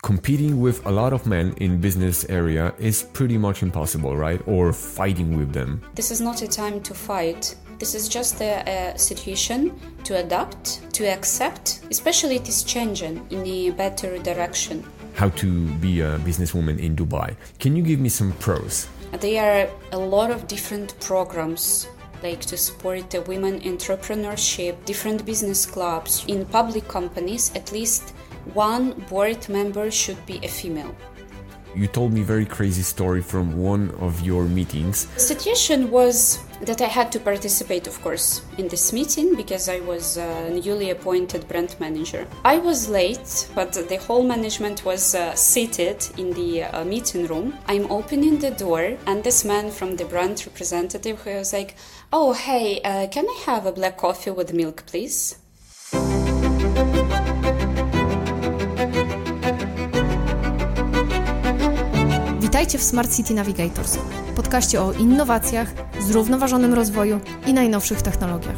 competing with a lot of men in business area is pretty much impossible, right? Or fighting with them. This is not a time to fight. This is just a situation to adapt, to accept, especially it is changing in a better direction. How to be a businesswoman in Dubai. Can you give me some pros? There are a lot of different programs like to support the women entrepreneurship, different business clubs. In public companies, at least one board member should be a female. You told me a very crazy story from one of your meetings. The situation was that I had to participate, of course, in this meeting because I was a newly appointed brand manager. I was late, but the whole management was seated in the meeting room. I'm opening the door, and this man from the brand representative who was like, "Oh, hey, can I have a black coffee with milk, please?" Witajcie w Smart City Navigators, podcaście o innowacjach, zrównoważonym rozwoju i najnowszych technologiach.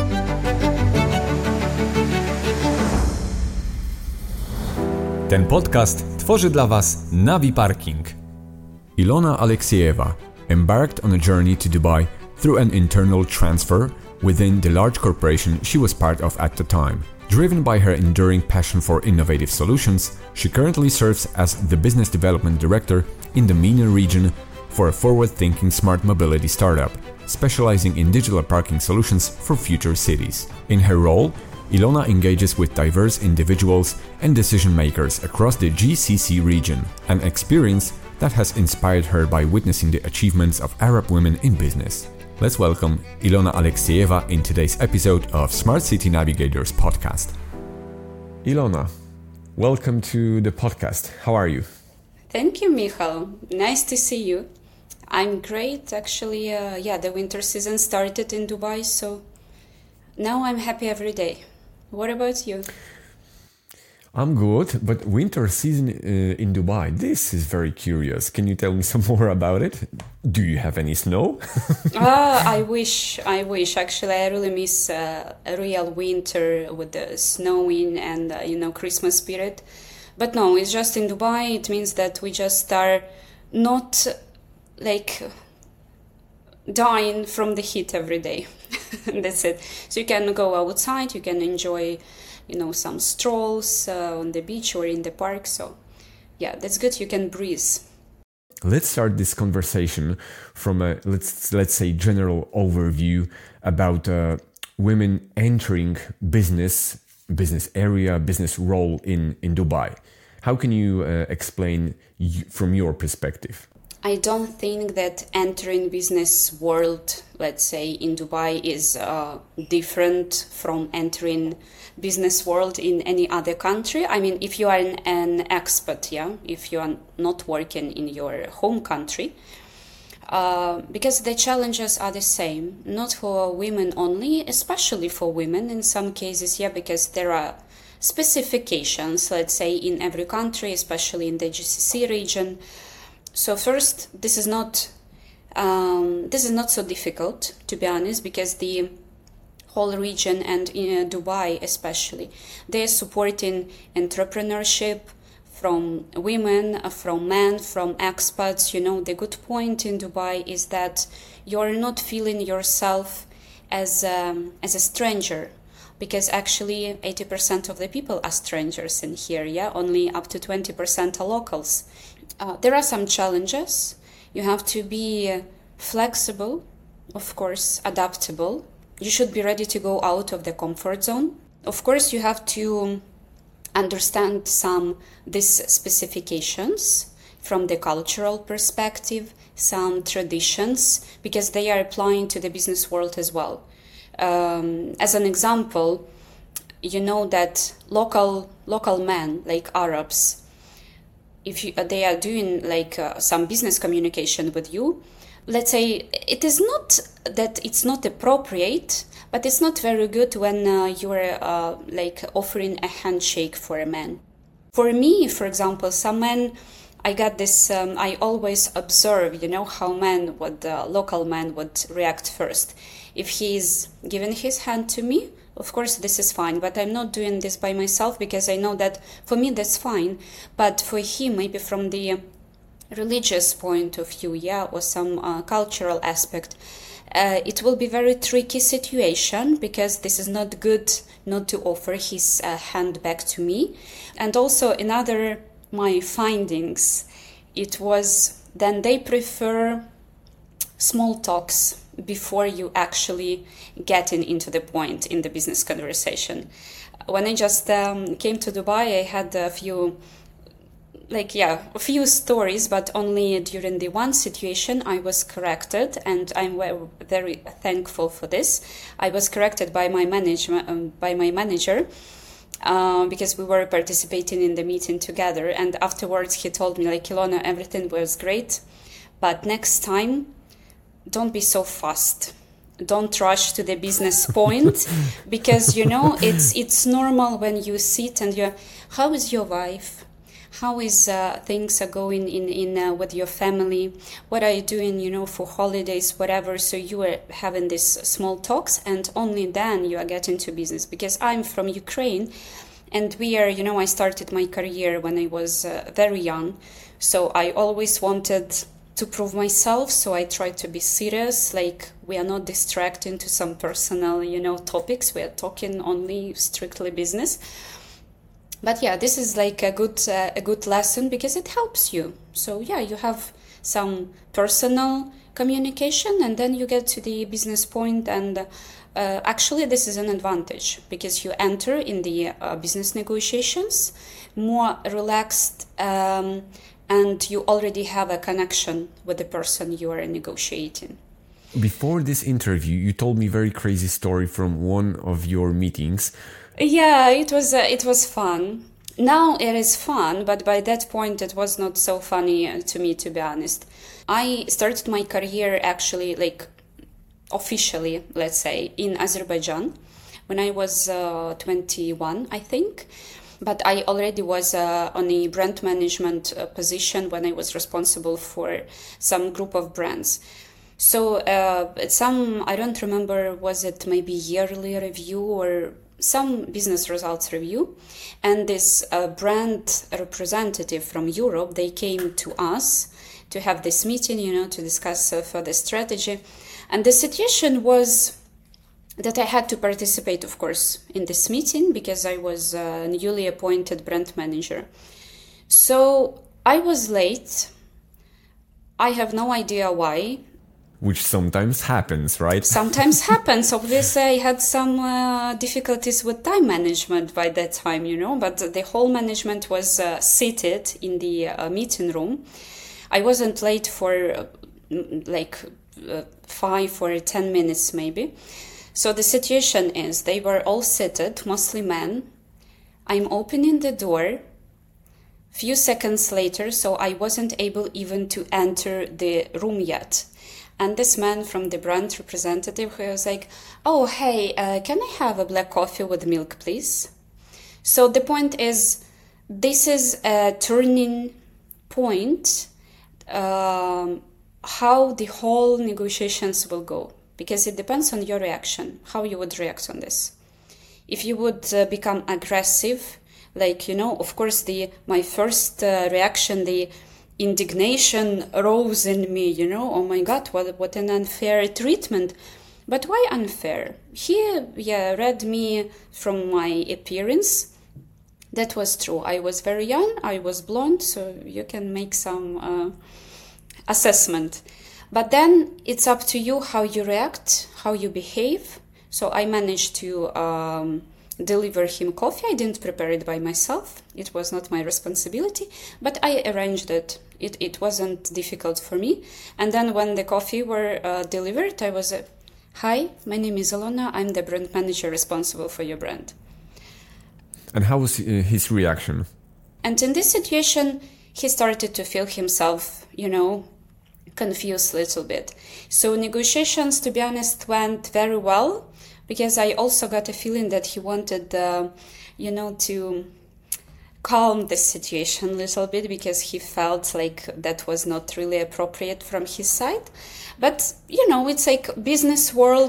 Ten podcast tworzy dla Was Navi Parking. Ilona Aleksieva embarked on a journey to Dubai through an internal transfer within the large corporation she was part of at the time. Driven by her enduring passion for innovative solutions, she currently serves as the Business Development Director in the MENA region for a forward-thinking smart mobility startup, specializing in digital parking solutions for future cities. In her role, Ilona engages with diverse individuals and decision-makers across the GCC region, an experience that has inspired her by witnessing the achievements of Arab women in business. Let's welcome Ilona Aleksieva in today's episode of Smart City Navigators podcast. Ilona, welcome to the podcast. How are you? Thank you, Michal. Nice to see you. I'm great. Actually, the winter season started in Dubai, so now I'm happy every day. What about you? I'm good, but winter season in Dubai, this is very curious. Can you tell me some more about it? Do you have any snow? I wish. Actually, I really miss a real winter with the snowing and, Christmas spirit. But no, it's just in Dubai. It means that we just are not dying from the heat every day. That's it. So you can go outside, you can enjoy some strolls on the beach or in the park. So yeah, that's good. You can breathe. Let's start this conversation from a, let's say, general overview about women entering business area, business role in Dubai. How can you explain from your perspective? I don't think that entering business world, let's say in Dubai, is different from entering business world in any other country. I mean, if you are an expat, if you are not working in your home country, because the challenges are the same, not for women only, especially for women in some cases, because there are specifications, let's say, in every country, especially in the GCC region. So first, this is not so difficult, to be honest, because the whole region and in Dubai especially, they are supporting entrepreneurship from women, from men, from expats. The good point in Dubai is that you're not feeling yourself as a stranger, because actually 80% of the people are strangers in here, only up to 20% are locals. There are some challenges. You have to be flexible, of course, adaptable. You should be ready to go out of the comfort zone. Of course, you have to understand these specifications from the cultural perspective, some traditions, because they are applying to the business world as well. As an example, that local men, like Arabs, if they are doing some business communication with you, let's say it is not that it's not appropriate, but it's not very good when you're offering a handshake for a man. For me, for example, some men, I got this, I always observe, how local man would react first. If he's giving his hand to me, of course this is fine, but I'm not doing this by myself because I know that for me that's fine, but for him, maybe from the religious point of view, or some cultural aspect, it will be very tricky situation, because this is not good not to offer his hand back to me. And also another my findings, it was then they prefer small talks before you actually getting into the point in the business conversation. When I just came to Dubai, I had a few stories, but only during the one situation I was corrected, and I'm very thankful for this. I was corrected by my manager, because we were participating in the meeting together, and afterwards he told me, like, Ilona, everything was great, but next time don't be so fast. Don't rush to the business point, because it's normal when you sit and how is your wife? How is things are going in with your family? What are you doing, for holidays, whatever? So you are having these small talks, and only then you are getting to business. Because I'm from Ukraine, and we are, I started my career when I was very young. So I always wanted to prove myself. So I tried to be serious, like we are not distracting to some personal, topics. We are talking only strictly business. But this is like a good lesson, because it helps you. So you have some personal communication, and then you get to the business point. And actually, this is an advantage, because you enter in the business negotiations more relaxed, and you already have a connection with the person you are negotiating. Before this interview, you told me a very crazy story from one of your meetings. Yeah, it was fun. Now it is fun, but by that point it was not so funny to me, to be honest. I started my career actually, like officially, let's say, in Azerbaijan when I was 21, I think. But I already was on a brand management position when I was responsible for some group of brands. So I don't remember, was it maybe yearly review or some business results review, and this brand representative from Europe, they came to us to have this meeting, to discuss further strategy. And the situation was that I had to participate, of course, in this meeting, because I was a newly appointed brand manager. So I was late. I have no idea why. Which sometimes happens, right? Sometimes happens. Obviously, I had some difficulties with time management by that time, but the whole management was seated in the meeting room. I wasn't late for 5 or 10 minutes maybe. So the situation is, they were all seated, mostly men. I'm opening the door. Few seconds later, so I wasn't able even to enter the room yet. And this man from the brand representative, who was like, oh, hey, can I have a black coffee with milk, please? So the point is, this is a turning point, how the whole negotiations will go. Because it depends on your reaction, how you would react on this. If you would become aggressive, of course, my first reaction, the indignation rose in me, oh my God, what an unfair treatment. But why unfair? He read me from my appearance. That was true. I was very young, I was blonde, so you can make some assessment. But then it's up to you how you react, how you behave. So I managed to deliver him coffee. I didn't prepare it by myself. It was not my responsibility, but I arranged it. It wasn't difficult for me. And then when the coffee were delivered, I was, hi, my name is Ilona. I'm the brand manager responsible for your brand. And how was his reaction? And in this situation, he started to feel himself, confused a little bit. So negotiations, to be honest, went very well, because I also got a feeling that he wanted, to calm the situation a little bit, because he felt like that was not really appropriate from his side. But, it's like business world,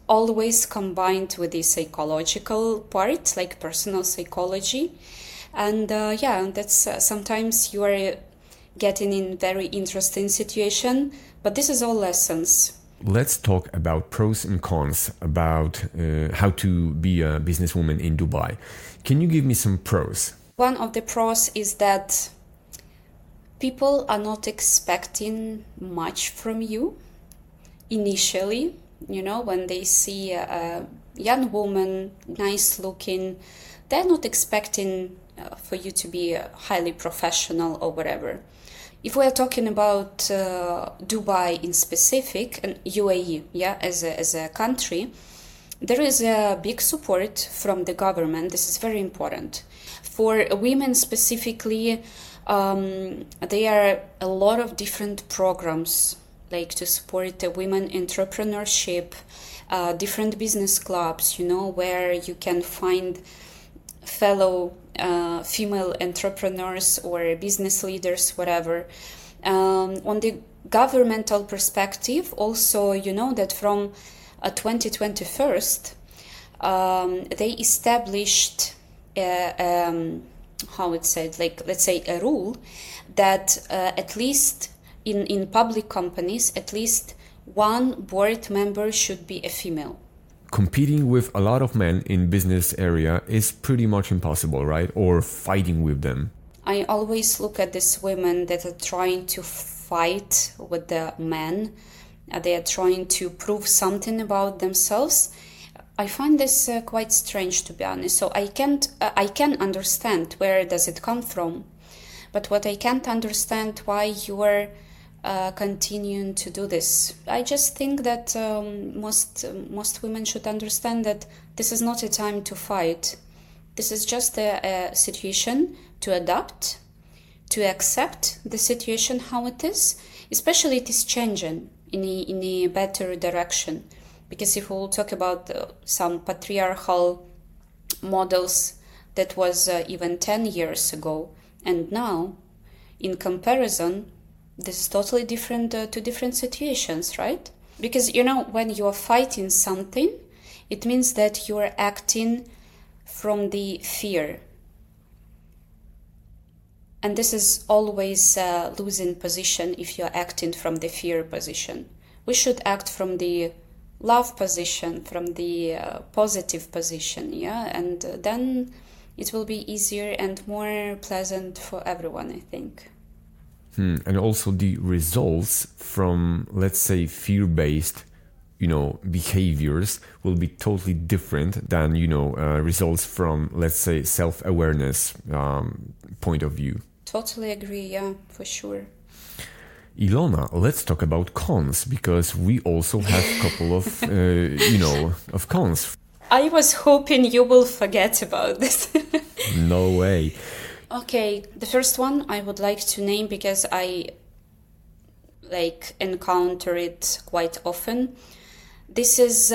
always combined with the psychological part, like personal psychology. And that's sometimes you are getting in very interesting situation, but this is all lessons. Let's talk about pros and cons about how to be a businesswoman in Dubai. Can you give me some pros? One of the pros is that people are not expecting much from you initially. You know, when they see a young woman, nice looking, they're not expecting for you to be highly professional or whatever. If we are talking about Dubai in specific and UAE, as a country, there is a big support from the government. This is very important. For women specifically, there are a lot of different programs like to support the women entrepreneurship, different business clubs, where you can find fellow female entrepreneurs or business leaders, whatever. On the governmental perspective, also, that from 2021, they established let's say a rule that at least in public companies, at least one board member should be a female. Competing with a lot of men in business area is pretty much impossible, right? Or fighting with them. I always look at these women that are trying to fight with the men. They are trying to prove something about themselves. I find this quite strange, to be honest. So I can understand where does it come from, but what I can't understand why you are continuing to do this. I just think that most women should understand that this is not a time to fight. This is just a situation to adapt, to accept the situation how it is. Especially it is changing in a better direction. Because if we'll talk about some patriarchal models that was even 10 years ago, and now, in comparison, this is totally different, two different situations, right? Because, when you are fighting something, it means that you are acting from the fear. And this is always a losing position if you are acting from the fear position. We should act from the love position, from the positive position, and then it will be easier and more pleasant for everyone, I think. And also the results from, let's say, fear-based, behaviors will be totally different than, results from, let's say, self-awareness point of view. Totally agree, yeah, for sure. Ilona, let's talk about cons, because we also have a couple of, of cons. I was hoping you will forget about this. No way. Okay, the first one I would like to name because I encounter it quite often. This is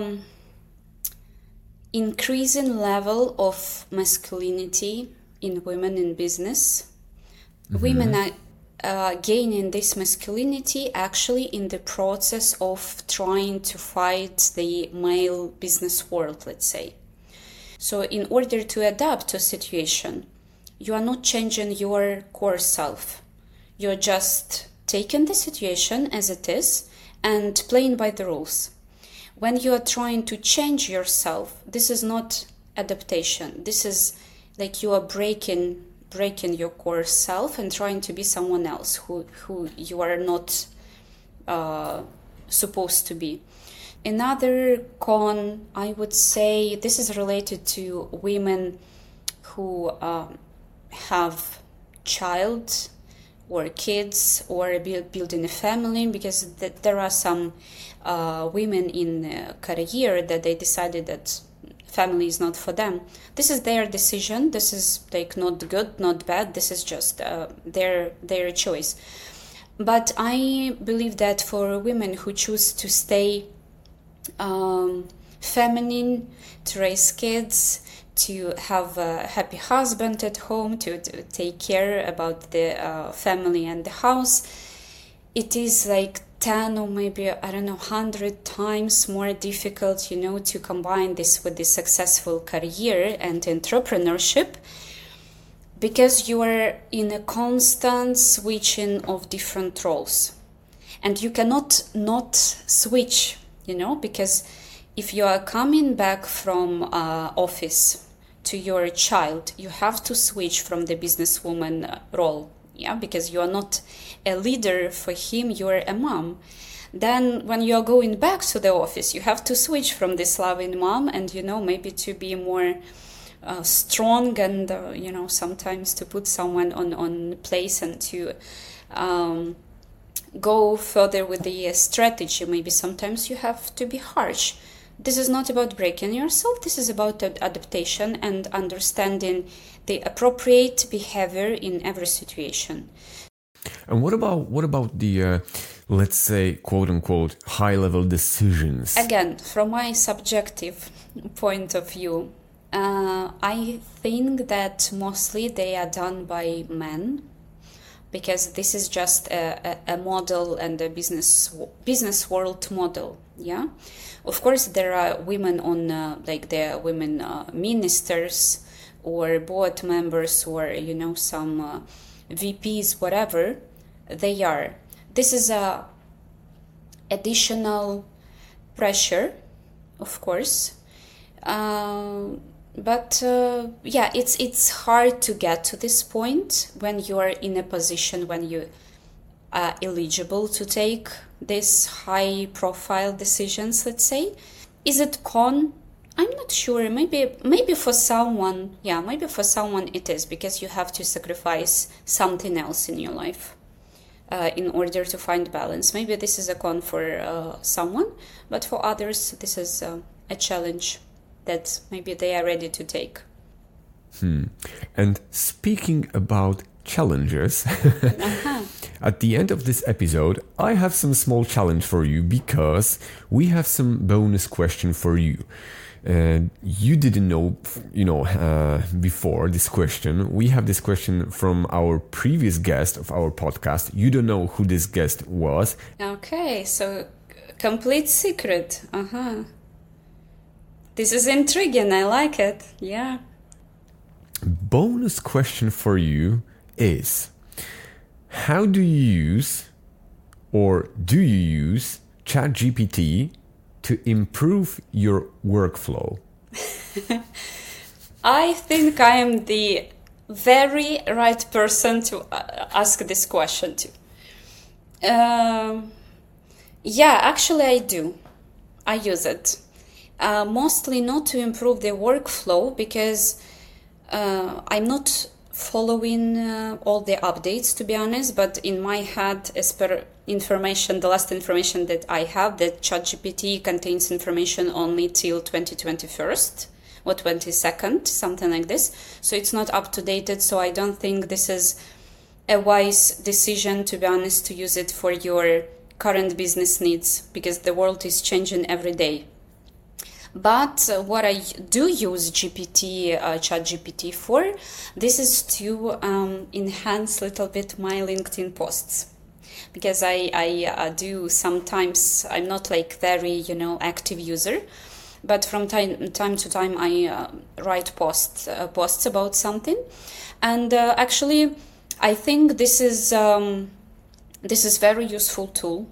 increasing level of masculinity in women in business. Mm-hmm. Women are gaining this masculinity actually in the process of trying to fight the male business world, let's say. So in order to adapt to a situation, you are not changing your core self. You're just taking the situation as it is and playing by the rules. When you are trying to change yourself, this is not adaptation. This is like you are breaking your core self and trying to be someone else who you are not supposed to be. Another con, I would say, this is related to women who have child or kids or building a family, because there are some women in career that they decided that family is not for them. This is their decision. This is not good, not bad. This is just their choice. But I believe that for women who choose to stay feminine, to raise kids, to have a happy husband at home, to take care about the family and the house, it is 10 or maybe, 100 times more difficult, to combine this with the successful career and entrepreneurship, because you are in a constant switching of different roles. And you cannot not switch, because if you are coming back from office to your child, you have to switch from the businesswoman role, because you are not a leader for him, you are a mom. Then when you are going back to the office, you have to switch from this loving mom and, maybe to be more strong and, sometimes to put someone on place and to go further with the strategy. Maybe sometimes you have to be harsh. This is not about breaking yourself. This is about adaptation and understanding the appropriate behavior in every situation. And what about the, let's say, quote unquote, high level decisions? Again, from my subjective point of view, I think that mostly they are done by men, because this is just a model and a business world model. Yeah, of course there are women on there are women ministers or board members or some VPs, whatever they are. This is a additional pressure, of course. But it's hard to get to this point when you are in a position when you are eligible to take these high profile decisions, let's say. Is it con? I'm not sure. Maybe for someone, it is, because you have to sacrifice something else in your life in order to find balance. Maybe this is a con for someone, but for others, this is a challenge that maybe they are ready to take. And speaking about challenges, at the end of this episode, I have some small challenge for you, because we have some bonus question for you. You didn't know, before this question. We have this question from our previous guest of our podcast. You don't know who this guest was. Okay, so complete secret. This is intriguing. I like it. Yeah. Bonus question for you is, how do you use ChatGPT to improve your workflow? I think I am the very right person to ask this question to. Actually I do. I use it. Mostly not to improve the workflow, because I'm not following all the updates, to be honest, but in my head, as per the last information that I have, that ChatGPT contains information only till 2021 or 22nd, something like this. So it's not up to date, so I don't think this is a wise decision, to be honest, to use it for your current business needs, because the world is changing every day. But what I do use ChatGPT for, this is to enhance a little bit my LinkedIn posts. Because I do sometimes, I'm not like very, active user, but from time to time I write posts about something. And actually, I think this is very useful tool.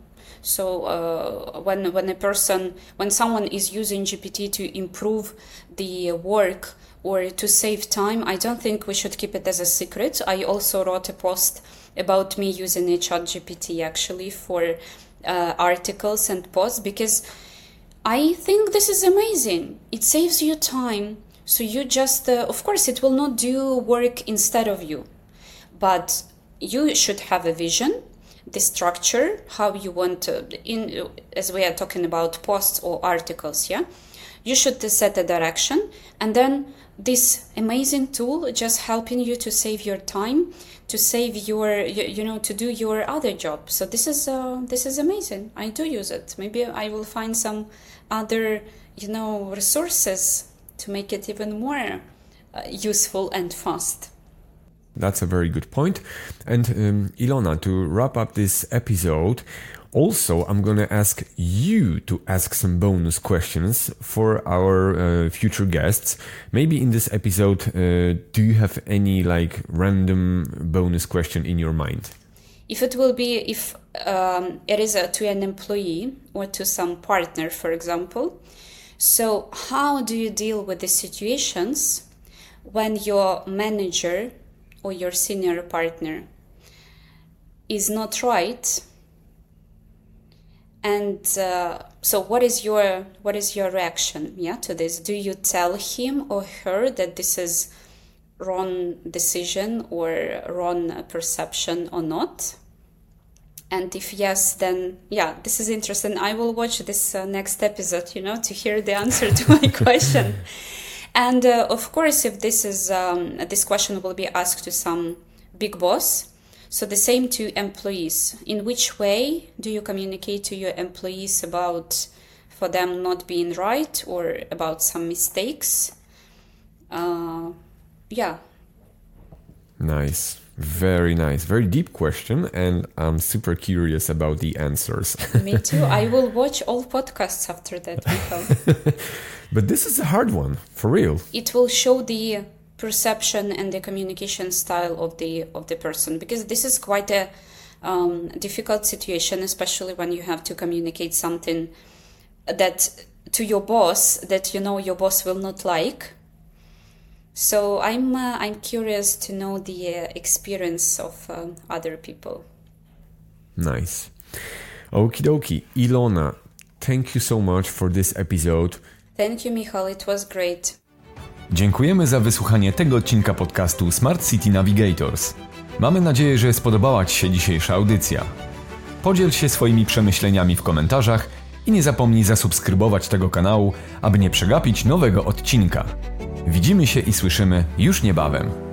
So when someone is using GPT to improve the work or to save time, I don't think we should keep it as a secret. I also wrote a post about me using a ChatGPT actually for articles and posts, because I think this is amazing. It saves you time. So you just, of course, it will not do work instead of you, but you should have a vision, the structure, how you want to, as we are talking about posts or articles, you should set a direction, and then this amazing tool just helping you to save your time, to save your, to do your other job. So this is amazing. I do use it. Maybe I will find some other, resources to make it even more useful and fast. That's a very good point. And Ilona, to wrap up this episode, Also, I'm gonna ask you to ask some bonus questions for our future guests. Maybe in this episode, do you have any like random bonus question in your mind? If it is to an employee or to some partner, for example, so how do you deal with the situations when your manager or your senior partner is not right? And so what is your reaction to this? Do you tell him or her that this is wrong decision or wrong perception or not? And if yes, then this is interesting. I will watch this next episode, to hear the answer to my question. And of course, if this question will be asked to some big boss, so the same to employees. In which way do you communicate to your employees about for them not being right or about some mistakes? Nice. Very nice. Very deep question, and I'm super curious about the answers. Me too. I will watch all podcasts after that, Michal. But this is a hard one, for real. It will show the perception and the communication style of the person, because this is quite a difficult situation, especially when you have to communicate something that to your boss that your boss will not like. So I'm curious to know the experience of other people. Nice. Okie dokie. Ilona, thank you so much for this episode. Thank you, Michal. It was great. Dziękujemy za wysłuchanie tego odcinka podcastu Smart City Navigators. Mamy nadzieję, że spodobała Ci się dzisiejsza audycja. Podziel się swoimi przemyśleniami w komentarzach i nie zapomnij zasubskrybować tego kanału, aby nie przegapić nowego odcinka. Widzimy się i słyszymy już niebawem.